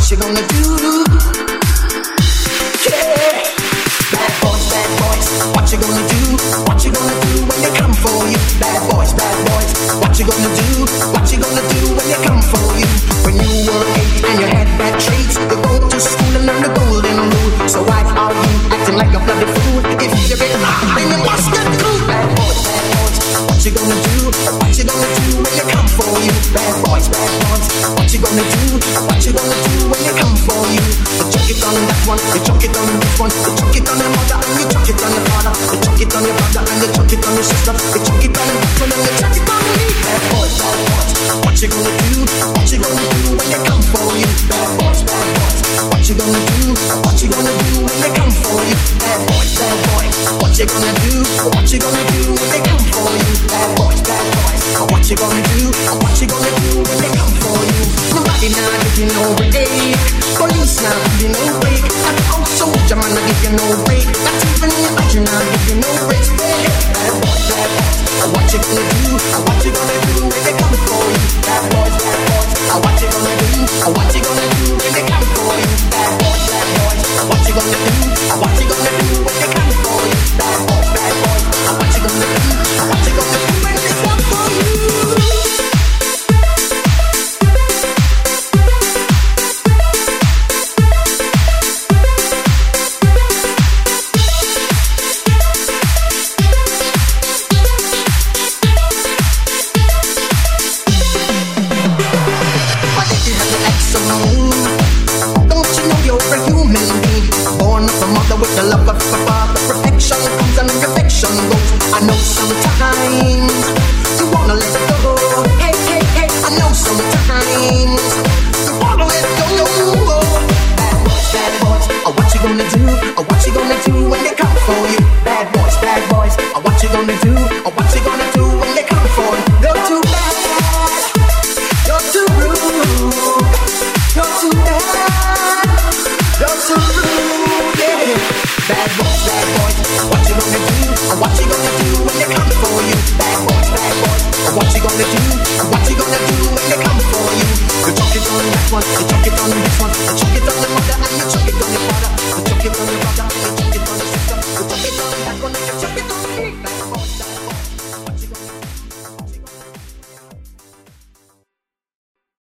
what you gonna do? Yeah. Bad boys, what you gonna do? What you gonna do when they come for you? Bad boys, what you gonna do? What you gonna do when they come for you? When you were 8 and you had bad traits, you go to school and learn the golden rule. So why are you acting like a bloody fool? If you get hot, then you must get cool. Bad boys, what you gonna do? What you gonna do when they come for you? Bad boys, what you gonna do? What you gonna do when they come for you? You chuck it on that one, you chuck it on this one, you chuck it on your mother and you chuck it on your father, you chuck it on your brother and you chuck it on your sister, you chuck it on your husband and you chuck it on me. Bad boys, what you gonna do? What you gonna do when they come for you? Bad boys, what you gonna do? What you gonna do when they come for you? Bad boys, what you gonna do? What you gonna do when they come for you? Bad boys, what you gonna do? What you gonna do when they come for you? Nobody now give you no break, police now give you no break, and out soldier man now give you no break, not even your agent now give you no break. Bad boys, what you gonna do? What you gonna do when they come for you? Bad boys, what you gonna do? What you gonna do when they come for you? Bad boys, what you gonna do? What you gonna do when they come for you? Bad boys, what you gonna do? What you gonna do when they come for you? With the love of a father, perfection comes and perfection goes. I know sometimes